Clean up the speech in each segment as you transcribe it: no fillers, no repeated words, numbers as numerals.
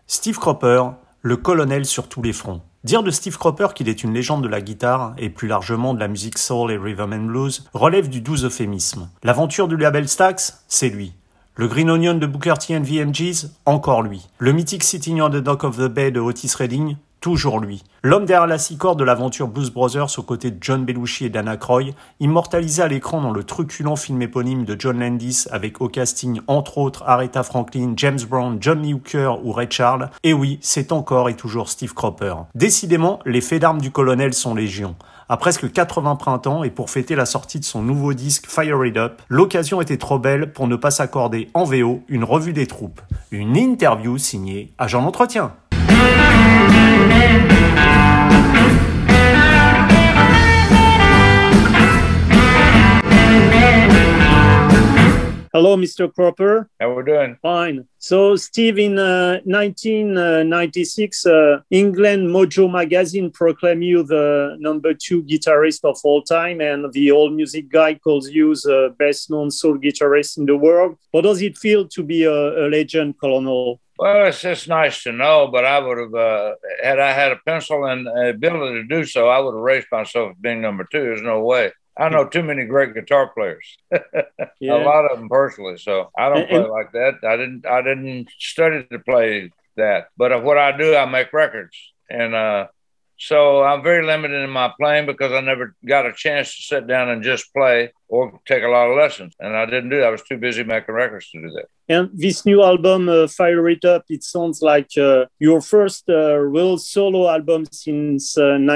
Steve Cropper, le colonel sur tous les fronts. Dire de Steve Cropper qu'il est une légende de la guitare, et plus largement de la musique soul et rhythm and blues, relève du doux euphémisme. L'aventure du label Stax, c'est lui. Le Green Onion de Booker T and VMGs, encore lui. Le mythique Sitting on the Dock of the Bay de Otis Redding, toujours lui. L'homme derrière la six-corde de l'aventure Blues Brothers aux côtés de John Belushi et Dan Aykroyd, immortalisé à l'écran dans le truculent film éponyme de John Landis avec au casting entre autres Aretha Franklin, James Brown, John Lee Hooker ou Ray Charles, et oui, c'est encore et toujours Steve Cropper. Décidément, les faits d'armes du colonel sont légion. À presque 80 printemps et pour fêter la sortie de son nouveau disque Fire It Up, l'occasion était trop belle pour ne pas s'accorder en VO une revue des troupes. Une interview signée Agent d'entretien. Hello, Mr. Cropper. How we doing? Fine. So, Steve, in 1996, England Mojo magazine proclaimed you the number 2 guitarist of all time, and the All Music Guide calls you the best-known soul guitarist in the world. How does it feel to be a legend, Colonel? Well, it's just nice to know, but I would have, had I had a pencil and the ability to do so, I would have raised myself as being number 2. There's no way. I know too many great guitar players, Yeah. a lot of them personally. So I don't play like that. I didn't study to play that, but what I do, I make records. And, so I'm very limited in my playing because I never got a chance to sit down and just play or take a lot of lessons. And I didn't do that. I was too busy making records to do that. And this new album, Fire It Up, it sounds like your first real solo album since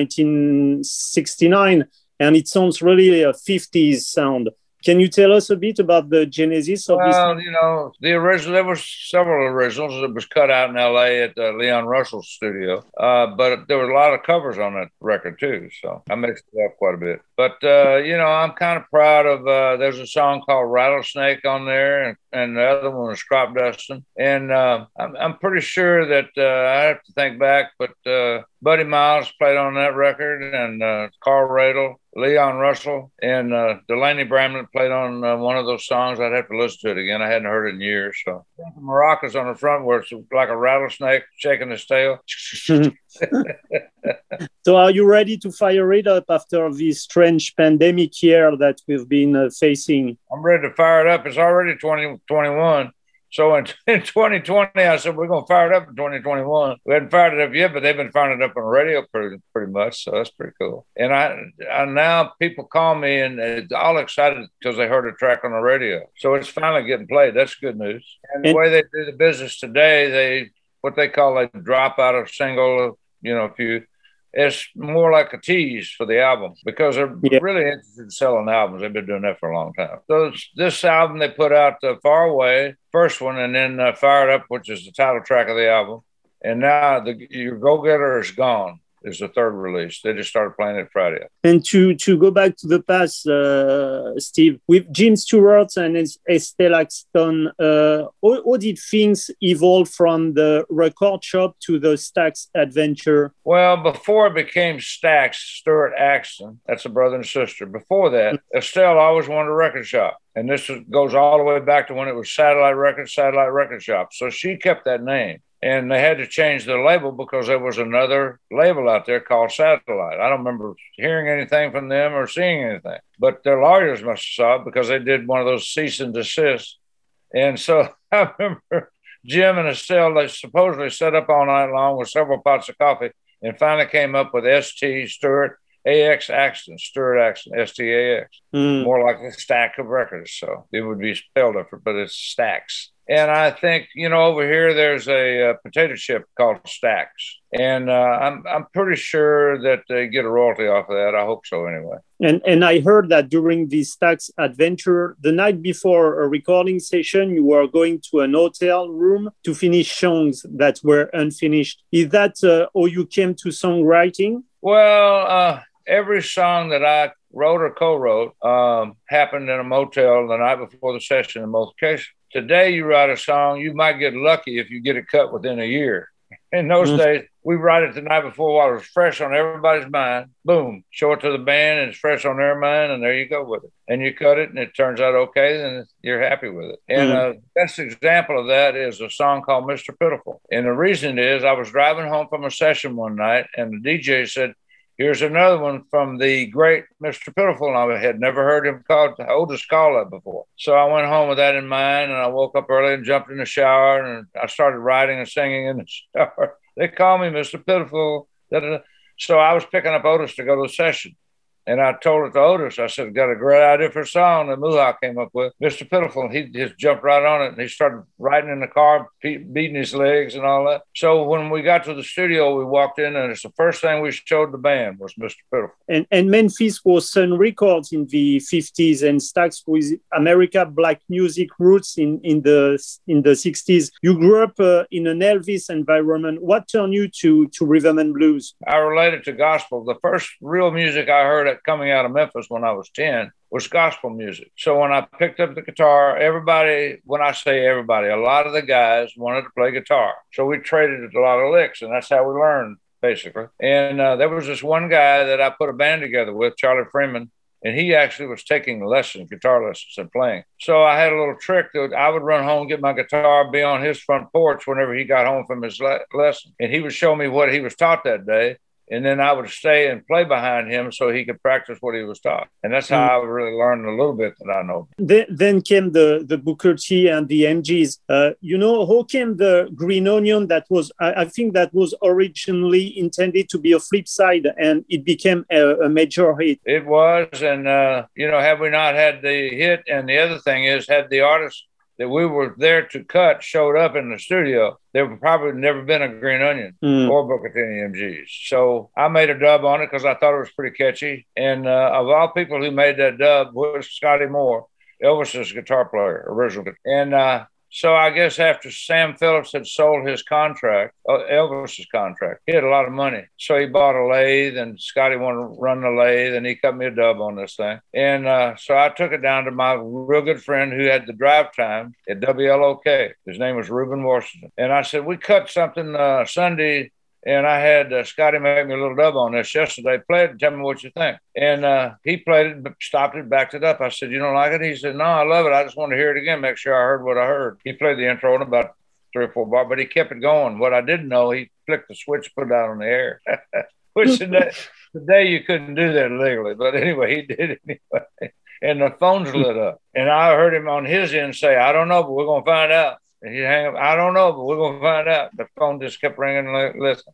1969. And it sounds really a 50s sound. Can you tell us a bit about the genesis of this? Well, you know, the original, there were several originals. It was cut out in LA at Leon Russell's studio. But there were a lot of covers on that record too. So I mixed it up quite a bit. But, you know, I'm kind of proud of, there's a song called Rattlesnake on there, and the other one was Crop Dustin'. And I'm pretty sure that I have to think back, but Buddy Miles played on that record, and Carl Radle, Leon Russell, and Delaney Bramlett played on one of those songs. I'd have to listen to it again. I hadn't heard it in years. So the maracas on the front where it's like a rattlesnake shaking his tail. So are you ready to fire it up after this strange pandemic year that we've been facing? I'm ready to fire it up. It's already 2021. So in 2020, I said, we're going to fire it up in 2021. We hadn't fired it up yet, but they've been firing it up on the radio pretty much. So that's pretty cool. And I now people call me and they're all excited because they heard a track on the radio. So it's finally getting played. That's good news. And the way they do the business today, what they call a drop out of single, you know, it's more like a tease for the album because they're really interested in selling albums. They've been doing that for a long time. So this album, they put out Far Away, first one, and then Fire It Up, which is the title track of the album. And now Your Go-Getter is Gone is the third release. They just started playing it Friday. And to go back to the past, Steve, with Jim Stewart and Estelle Axton, how did things evolve from the record shop to the Stax adventure? Well, before it became Stax, Stewart Axton, that's a brother and sister. Before that, Estelle always wanted a record shop. And this goes all the way back to when it was Satellite Record Shop. So she kept that name. And they had to change the label because there was another label out there called Satellite. I don't remember hearing anything from them or seeing anything. But their lawyers must have saw it because they did one of those cease and desist. And so I remember Jim and Estelle, they supposedly sat up all night long with several pots of coffee and finally came up with ST Stewart AX Axton, Stewart Axton, STAX. More like a stack of records. So it would be spelled different, but it's Stax. And I think, you know, over here there's a potato chip called Stax. And I'm pretty sure that they get a royalty off of that. I hope so anyway. And I heard that during this Stax adventure, the night before a recording session, you were going to an hotel room to finish songs that were unfinished. Is that how you came to songwriting? Well, every song that I wrote or co-wrote happened in a motel the night before the session in most cases. Today, you write a song, you might get lucky if you get it cut within a year. In those days, we write it the night before while it was fresh on everybody's mind. Boom, show it to the band, and it's fresh on their mind, and there you go with it. And you cut it, and it turns out okay, then you're happy with it. And the best example of that is a song called Mr. Pitiful. And the reason is I was driving home from a session one night, and the DJ said, here's another one from the great Mr. Pitiful. And I had never heard him called Otis call that before. So I went home with that in mind, and I woke up early and jumped in the shower, and I started writing and singing in the shower. They call me Mr. Pitiful. Da-da-da. So I was picking up Otis to go to the session. And I told it to Otis. I said, got a great idea for a song that Muhawk came up with, Mr. Pitiful. And he just jumped right on it. And he started riding in the car, beating his legs and all that. So when we got to the studio, we walked in, and it's the first thing we showed the band was Mr. Pitiful. And Memphis was Sun Records in the 50s, and Stax with America Black music roots in the 60s. You grew up in an Elvis environment. What turned you to rhythm and blues? I related to gospel. The first real music I heard coming out of Memphis when I was 10 was gospel music. So when I picked up the guitar, everybody, when I say everybody, a lot of the guys wanted to play guitar. So we traded a lot of licks, and that's how we learned, basically. And there was this one guy that I put a band together with, Charlie Freeman, and he actually was taking lessons, guitar lessons, and playing. So I had a little trick that I would run home, get my guitar, be on his front porch whenever he got home from his lesson. And he would show me what he was taught that day. And then I would stay and play behind him so he could practice what he was taught. And that's how I really learned a little bit that I know. Then came the Booker T and the MGs. How came the Green Onion that was, I think that was originally intended to be a flip side, and it became a major hit. It was. And, had we not had the hit, and the other thing is, had the artist that we were there to cut showed up in the studio, there would probably never been a Green Onion or Booker T and the MGs. So I made a dub on it because I thought it was pretty catchy. And of all people who made that dub was Scotty Moore, Elvis's guitar player, original. And so I guess after Sam Phillips had sold his contract, Elvis's contract, he had a lot of money. So he bought a lathe, and Scotty wanted to run the lathe, and he cut me a dub on this thing. And so I took it down to my real good friend who had the drive time at WLOK. His name was Reuben Washington. And I said, we cut something Sunday, and I had Scotty make me a little dub on this yesterday. Play it and tell me what you think. And he played it, stopped it, backed it up. I said, you don't like it? He said, no, I love it. I just want to hear it again, make sure I heard what I heard. He played the intro in about 3 or 4 bars, but he kept it going. What I didn't know, he flicked the switch, put it out on the air. Which today you couldn't do that legally. But anyway, he did it anyway. And the phones lit up. And I heard him on his end say, I don't know, but we're going to find out. And he'd hang up, I don't know, but we're going to find out. The phone just kept ringing and listen.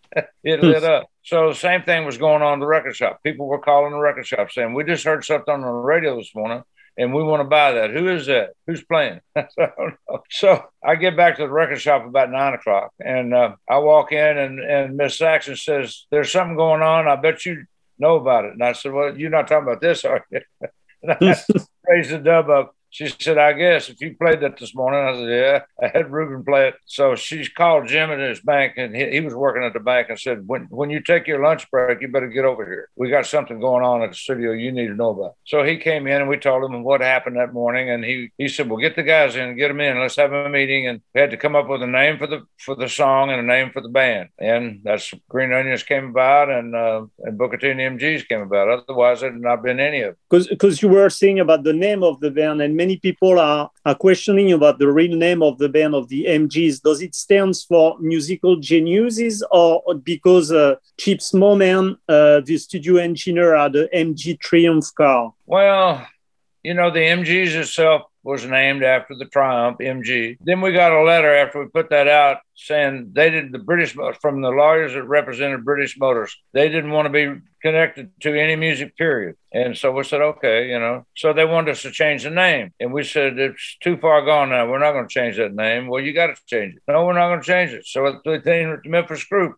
It lit up. So the same thing was going on in the record shop. People were calling the record shop saying, we just heard something on the radio this morning, and we want to buy that. Who is that? Who's playing? I don't know. So I get back to the record shop about 9 o'clock, and I walk in, and Miss Saxon says, there's something going on. I bet you know about it. And I said, well, you're not talking about this, are you? And I raised the dub up. She said, I guess if you played that this morning. I said, yeah, I had Reuben play it. So she called Jim at his bank, and he was working at the bank, and said, when you take your lunch break, you better get over here. We got something going on at the studio you need to know about. So he came in, and we told him what happened that morning. And he said, well, get the guys in, get them in. Let's have a meeting. And we had to come up with a name for the song and a name for the band. And that's Green Onions came about, and Booker T and the MGs came about. Otherwise, it had not been any of it. Because you were saying about the name of the band, and many people are questioning about the real name of the band of the MGs. Does it stand for musical geniuses, or because Chip Moman, the studio engineer, had the MG Triumph car? Well, the MGs itself was named after the Triumph MG. Then we got a letter after we put that out saying they did from the lawyers that represented British Motors. They didn't want to be connected to any music, period. And so we said, okay, So they wanted us to change the name. And we said, it's too far gone now. We're not going to change that name. Well, you got to change it. No, we're not going to change it. So it's the Memphis Group.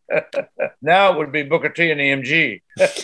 Now it would be Booker T and the MG.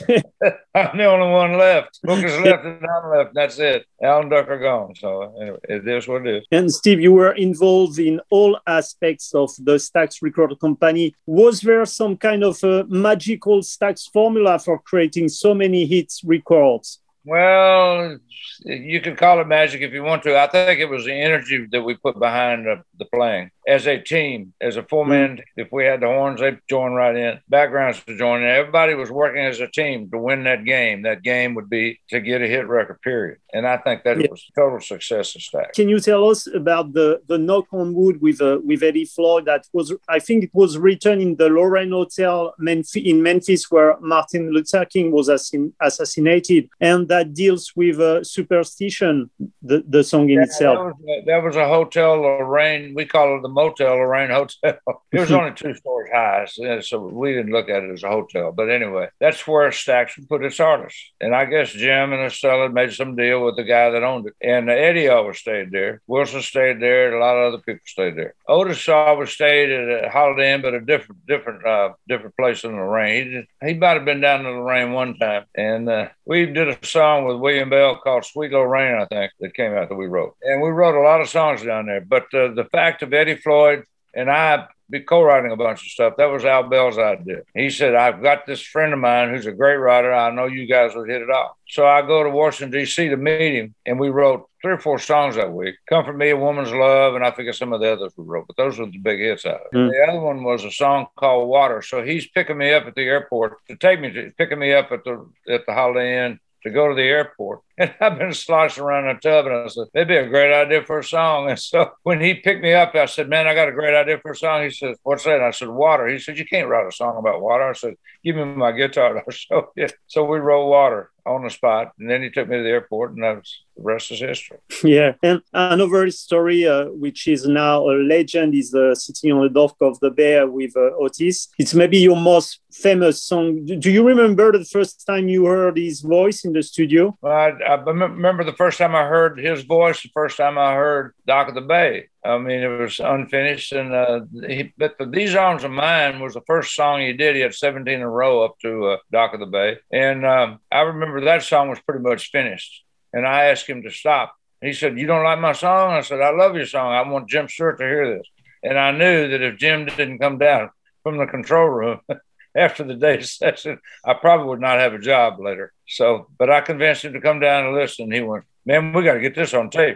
I'm the only one left. Booker's left and I'm left. That's it. Al and Duck are gone. So anyway, it is what it is. And Steve, you were involved in all aspects of the Stax Record Company. Was there some kind of a magical Stax formula for creating so many hits records? Well, you could call it magic if you want to. I think it was the energy that we put behind the playing. as a team, as a four-man. If we had the horns, they'd join right in. Backgrounds to join in. Everybody was working as a team to win that game. That game would be to get a hit record, period. And I think that was a total success of Stax. Can you tell us about the Knock on Wood with Eddie Floyd? That was, I think it was written in the Lorraine Hotel in Memphis, where Martin Luther King was assassinated, and that deals with superstition, the song in itself. That was a Hotel Lorraine. We call it the Motel Lorraine Hotel. It was only 2 stories high, so we didn't look at it as a hotel. But anyway, that's where Stax would put its artists. And I guess Jim and Estella made some deal with the guy that owned it. And Eddie always stayed there. Wilson stayed there. And a lot of other people stayed there. Otis always stayed at a Holiday Inn, but a different place in Lorraine. He might have been down in Lorraine one time. And we did a song with William Bell called Sweet Lorraine, I think, that came out that we wrote. And we wrote a lot of songs down there. But the fact of Eddie Floyd and I be co-writing a bunch of stuff, that was Al Bell's idea. He said, I've got this friend of mine who's a great writer. I know you guys would hit it off. So I go to Washington, D.C. to meet him, and we wrote 3 or 4 songs that week. Comfort Me, A Woman's Love, and I forget some of the others we wrote, but those were the big hits out of it. The other one was a song called Water. So he's picking me up at the airport picking me up at the Holiday Inn to go to the airport. And I've been sloshing around in a tub, and I said, that'd be a great idea for a song. And so when he picked me up, I said, man, I got a great idea for a song. He said, what's that? And I said, water. He said, you can't write a song about water. I said, give me my guitar and I'll show you. So we wrote Water on the spot. And then he took me to the airport, and the rest is history. Yeah. And another story, which is now a legend, is Sitting on the Dock of the Bay with Otis. It's maybe your most famous song. Do you remember the first time you heard his voice in the studio? I remember the first time I heard his voice, the first time I heard Dock of the Bay. I mean, it was unfinished. And but These Arms of Mine was the first song he did. He had 17 in a row up to Dock of the Bay. And I remember that song was pretty much finished. And I asked him to stop. He said, you don't like my song? I said, I love your song. I want Jim Stewart to hear this. And I knew that if Jim didn't come down from the control room after the day's session, I probably would not have a job later. So, but I convinced him to come down and listen. He went, man, we got to get this on tape.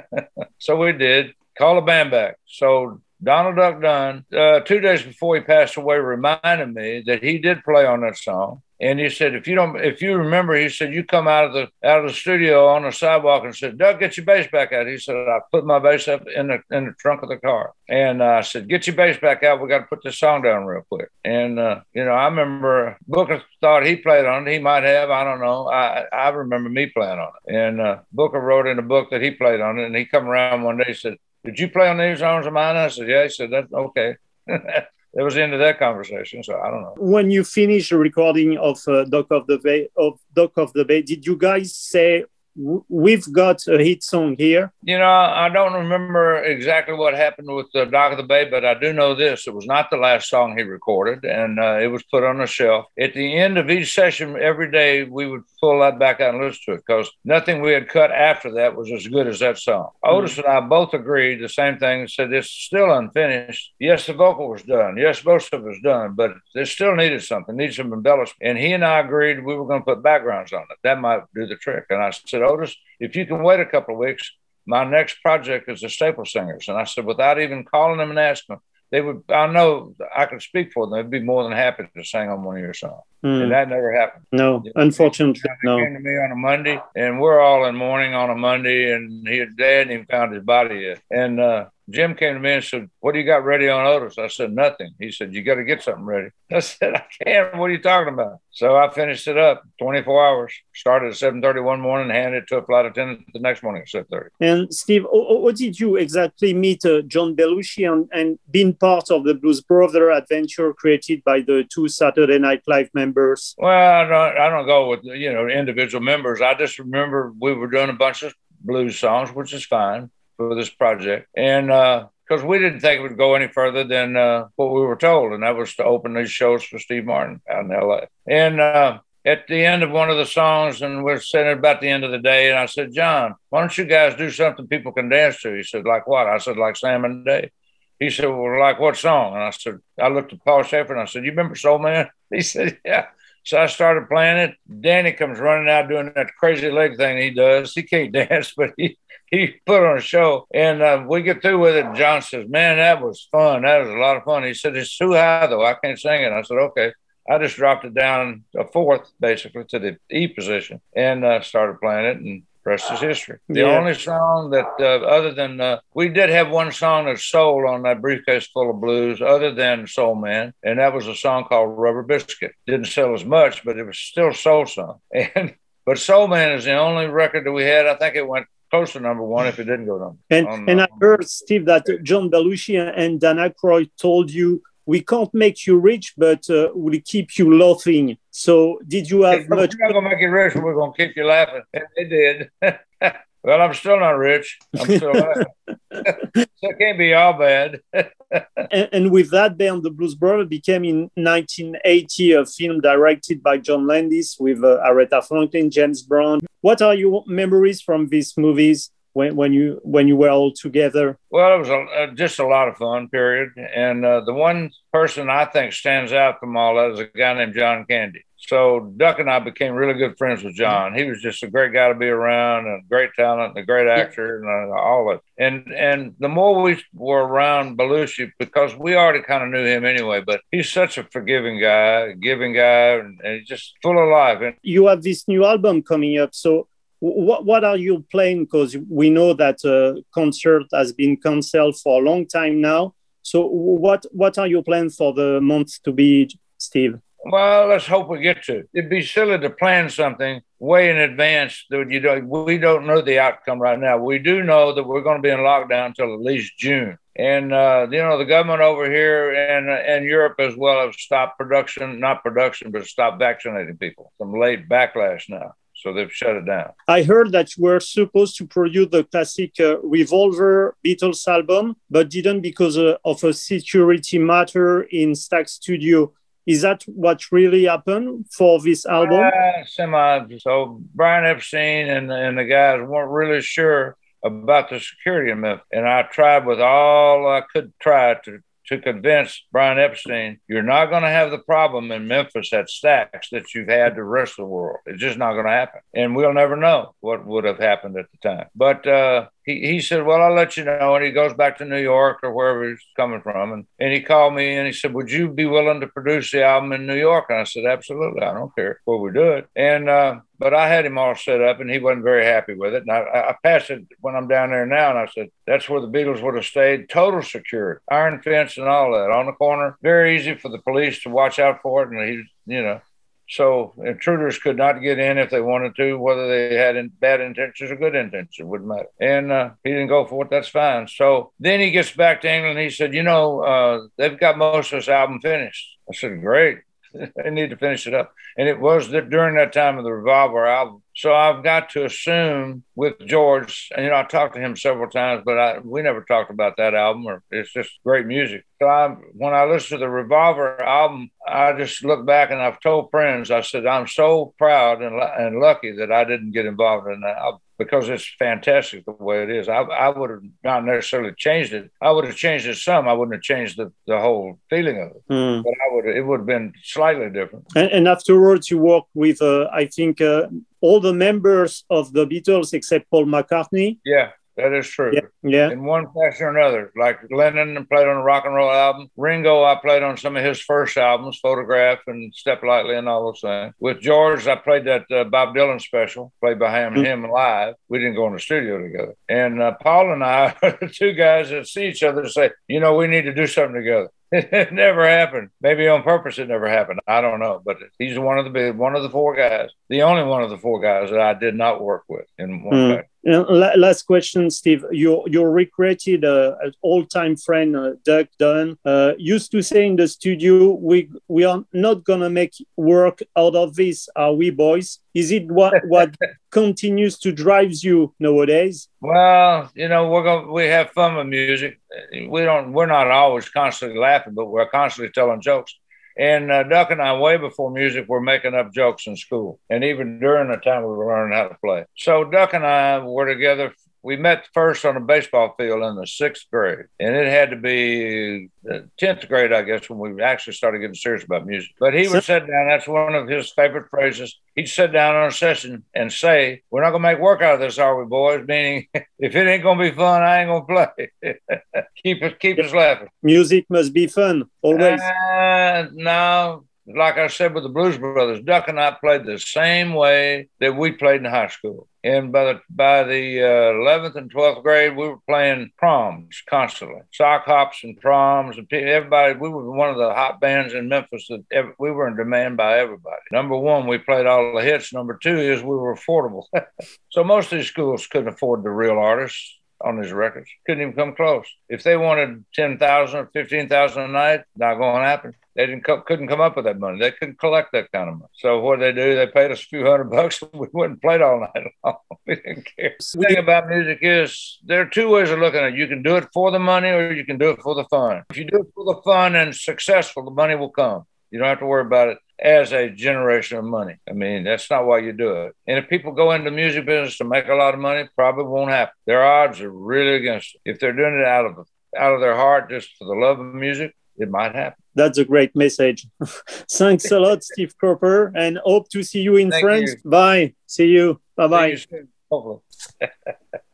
So we did. Call the band back. So Donald Duck Dunn, 2 days before he passed away, reminded me that he did play on that song. And he said, if you remember, he said, you come out of the studio on the sidewalk and said, Duck, get your bass back out. He said, I put my bass up in the trunk of the car. And I said, get your bass back out. We got to put this song down real quick. And, I remember Booker thought he played on it. He might have, I don't know. I remember me playing on it. And Booker wrote in a book that he played on it. And he come around one day and said, did you play on These Arms of Mine? I said, yeah. He said, that's okay. That was the end of that conversation, so I don't know. When you finished the recording of Dock of the Bay, did you guys say, we've got a hit song here? I don't remember exactly what happened with the Dock of the Bay, but I do know this. It was not the last song he recorded, and it was put on the shelf. At the end of each session, every day, we would pull that back out and listen to it, because nothing we had cut after that was as good as that song. Otis and I both agreed the same thing, said it's still unfinished. Yes, the vocal was done. Yes, most of it was done, but it still needed something, needed some embellishment. And he and I agreed we were going to put backgrounds on it. That might do the trick. And I said, Otis, if you can wait a couple of weeks, my next project is the Staple Singers. And I said, without even calling them and asking them, I know I could speak for them. They'd be more than happy to sing on one of your songs. And that never happened. No, unfortunately, no. He came to me on a Monday, and we're all in mourning on a Monday, and they hadn't even found his body yet. And Jim came to me and said, what do you got ready on Otis? I said, nothing. He said, you got to get something ready. I said, I can't. What are you talking about? So I finished it up 24 hours, started at 7:30 one morning, handed it to a flight attendant the next morning at 7:30. And Steve, how did you exactly meet John Belushi and being part of the Blues Brother adventure created by the 2 Saturday Night Live members? Well, I don't go with, individual members. I just remember we were doing a bunch of blues songs, which is fine for this project. And because we didn't think it would go any further than what we were told, and that was to open these shows for Steve Martin out in L.A. And at the end of one of the songs, and we're sitting about the end of the day, and I said, John, why don't you guys do something people can dance to? He said, like what? I said, like Sam and Dave. He said, well, like what song? And I said, I looked at Paul Shaffer, and I said, you remember Soul Man? He said, yeah. So I started playing it. Danny comes running out doing that crazy leg thing he does. He can't dance, but he put on a show. And we get through with it. And John says, man, that was fun. That was a lot of fun. He said, it's too high, though. I can't sing it. I said, okay. I just dropped it down a fourth, basically, to the E position and started playing it. And rest is history. The only song that, other than, we did have one song that's soul on that Briefcase Full of Blues, other than Soul Man, and that was a song called Rubber Biscuit. Didn't sell as much, but it was still a soul song. But Soul Man is the only record that we had. I think it went close to number one if it didn't go number. And I heard, Steve, that John Belushi and Dan Aykroyd told you, we can't make you rich, but we'll keep you laughing. So did you have much... We're not going to make you rich, but we're going to keep you laughing. And they did. Well, I'm still not rich. I'm still laughing. So it can't be all bad. and with that, Band the Blues Brothers became in 1980 a film directed by John Landis with Aretha Franklin, James Brown. What are your memories from these movies? When you were all together? Well, it was just a lot of fun, period. And the one person I think stands out from all that is a guy named John Candy. So Duck and I became really good friends with John. He was just a great guy to be around, and great talent, and a great actor, and all of it. And the more we were around Belushi, because we already kind of knew him anyway, but he's such a forgiving guy, giving guy, and he's just full of life. And you have this new album coming up, so what are you playing? Because we know that concert has been canceled for a long time now. So what are you playing for the month to be, Steve? Well, let's hope we get to. It'd be silly to plan something way in advance that we don't know the outcome right now. We do know that we're going to be in lockdown until at least June. And, the government over here and Europe as well have stopped not production, but stopped vaccinating people. Some late backlash now. So they've shut it down. I heard that you were supposed to produce the classic Revolver Beatles album, but didn't because of a security matter in Stax Studio. Is that what really happened for this album? Semi. So Brian Epstein and the guys weren't really sure about the security in Memphis. And I tried with all I could try to convince Brian Epstein, you're not going to have the problem in Memphis at Stax that you've had the rest of the world. It's just not going to happen. And we'll never know what would have happened at the time. But he said, well, I'll let you know. And he goes back to New York or wherever he's coming from. And he called me and he said, would you be willing to produce the album in New York? And I said, absolutely. I don't care where we do it. And but I had him all set up and he wasn't very happy with it. And I passed it when I'm down there now. And I said, that's where the Beatles would have stayed. Total security, iron fence and all that on the corner. Very easy for the police to watch out for it. And so intruders could not get in if they wanted to, whether they had bad intentions or good intentions, it wouldn't matter. And he didn't go for it. That's fine. So then he gets back to England. He said, they've got most of this album finished. I said, great. They need to finish it up. And it was during that time of the Revolver album. So I've got to assume with George, and I talked to him several times, but we never talked about that album, or it's just great music. So when I listen to the Revolver album, I just look back and I've told friends, I said, I'm so proud and lucky that I didn't get involved in that album, because it's fantastic the way it is. I would have not necessarily changed it. I would have changed it some. I wouldn't have changed the whole feeling of it. But it would have been slightly different. And afterwards, you worked with, I think, all the members of the Beatles except Paul McCartney. Yeah. That is true. Yeah. In one fashion or another. Like Lennon played on a rock and roll album. Ringo, I played on some of his first albums, Photograph and Step Lightly and all those things. With George, I played that Bob Dylan special, played by him live. We didn't go in the studio together. And Paul and I are the two guys that see each other and say, we need to do something together. It never happened. Maybe on purpose it never happened. I don't know. But he's one of the four guys, the only one of the four guys that I did not work with in one way. Last question, Steve. Your recreated all-time friend, Duck Dunn, used to say in the studio, we are not going to make work out of this, are we, boys? Is it what continues to drive you nowadays? Well, we have fun with music. We're not always constantly laughing, but we're constantly telling jokes. And Duck and I, way before music, were making up jokes in school. And even during the time we were learning how to play. So Duck and I were together We met first on a baseball field in the 6th grade, and it had to be the 10th grade, I guess, when we actually started getting serious about music. But he would sit down. That's one of his favorite phrases. He'd sit down on a session and say, "We're not going to make work out of this, are we, boys?" Meaning, if it ain't going to be fun, I ain't going to play. keep us laughing. Music must be fun, always. No. Like I said with the Blues Brothers, Duck and I played the same way that we played in high school. And by the 11th and 12th grade, we were playing proms constantly, sock hops and proms, and everybody. We were one of the hot bands in Memphis that we were in demand by everybody. Number one, we played all the hits. Number two is we were affordable. So most of these schools couldn't afford the real artists on these records. Couldn't even come close. If they wanted $10,000 or $15,000 a night, not going to happen. They couldn't come up with that money. They couldn't collect that kind of money. So what did they do? They paid us a few $100. We went and played all night long. We didn't care. The thing about music is there are two ways of looking at it. You can do it for the money or you can do it for the fun. If you do it for the fun and successful, the money will come. You don't have to worry about it as a generation of money. I mean, that's not why you do it. And if people go into music business to make a lot of money, probably won't happen. Their odds are really against it. If they're doing it out of their heart, just for the love of music, it might happen. That's a great message. Thanks a lot, Steve Cropper, and hope to see you in France. Bye. See you. Bye-bye. See you soon, hopefully.